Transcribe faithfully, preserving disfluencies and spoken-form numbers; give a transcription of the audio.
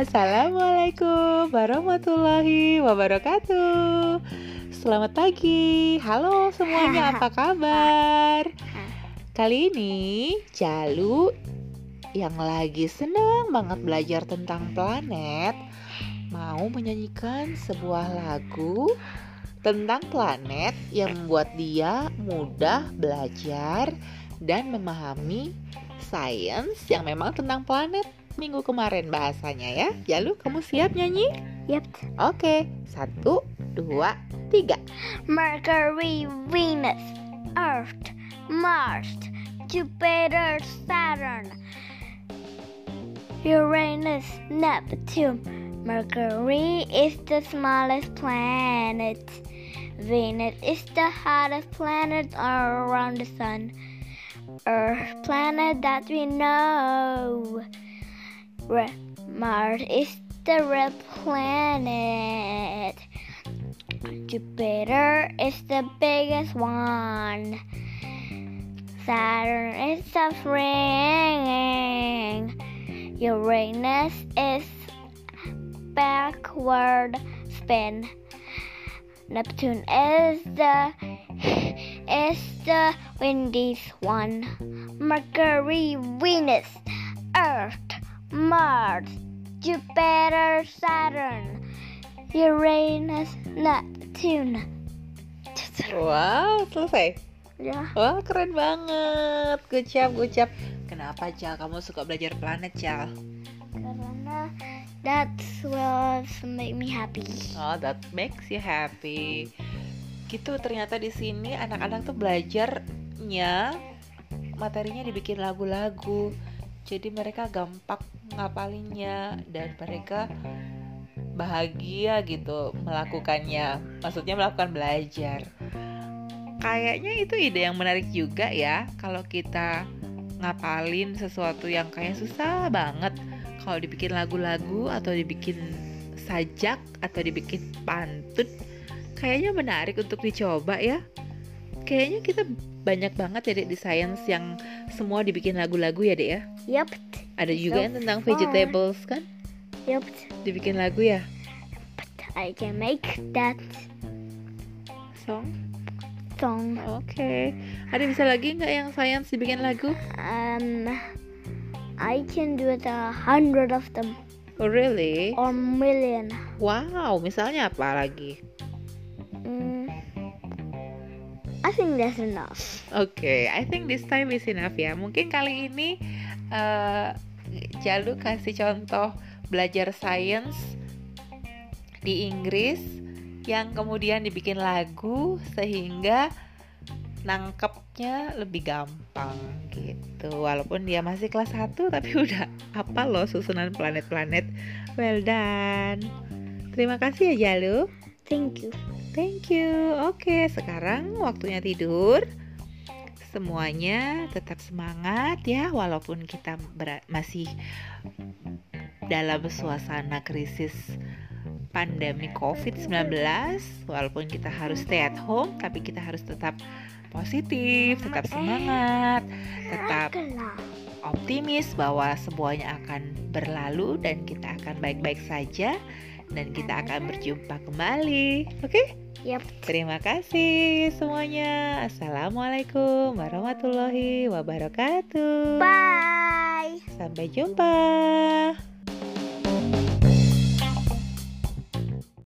Assalamualaikum warahmatullahi wabarakatuh. Selamat pagi. Halo semuanya, apa kabar? Kali ini Jalu yang lagi senang banget belajar tentang planet mau menyanyikan sebuah lagu tentang planet yang membuat dia mudah belajar dan memahami sains yang memang tentang planet minggu kemarin bahasanya ya. Jalu, kamu siap nyanyi? Yep. Oke, satu, dua, tiga. Mercury, Venus, Earth, Mars, Jupiter, Saturn, Uranus, Neptune. Mercury is the smallest planet. Venus is the hottest planet around the sun. Earth, planet that we know. Red Mars is the red planet. Jupiter is the biggest one. Saturn is the ring. Uranus is backward spin. Neptune is the is the windiest one. Mercury, Venus, Earth, Mars, Jupiter, Saturn, Uranus, Neptune. Wow, selesai. Ya. Wah, keren banget. Good job, good job. Kenapa, Cal? Kamu suka belajar planet, Cal? Karena that will make me happy. Oh, that makes you happy. Gitu, ternyata di sini anak-anak tuh belajarnya materinya dibikin lagu-lagu. Jadi mereka gampang ngapalinnya dan mereka bahagia gitu melakukannya. Maksudnya melakukan belajar. Kayaknya itu ide yang menarik juga ya. Kalau kita ngapalin sesuatu yang kayak susah banget, kalau dibikin lagu-lagu atau dibikin sajak atau dibikin pantun, kayaknya menarik untuk dicoba ya. Kayaknya kita banyak banget ya Dek di sains yang semua dibikin lagu-lagu ya Dek ya. Yup. Ada juga So yang tentang fun. vegetables kan, Yup. dibikin lagu ya. I can make that Song. song. Oke. Ada bisa lagi nggak yang sains dibikin lagu? Um, I can do it a hundred of them Oh really? or million. Wow. Misalnya apa lagi? Mm, I think that's enough. Oke, okay, I think this time is enough ya. Mungkin kali ini uh, Jalu kasih contoh belajar sains di Inggris yang kemudian dibikin lagu sehingga nangkepnya lebih gampang gitu. Walaupun dia masih kelas satu tapi udah hafal loh susunan planet-planet. Well done. Terima kasih ya Jalu. Thank you. Thank you. Oke, sekarang waktunya tidur. Semuanya tetap semangat ya, walaupun kita ber- masih dalam suasana krisis pandemi covid sembilan belas. Walaupun kita harus stay at home, tapi kita harus tetap positif, tetap semangat, tetap optimis bahwa semuanya akan berlalu dan kita akan baik-baik saja. Dan kita akan berjumpa kembali. Oke? Okay? Yep. Terima kasih semuanya. Assalamualaikum warahmatullahi wabarakatuh. Bye. Sampai jumpa.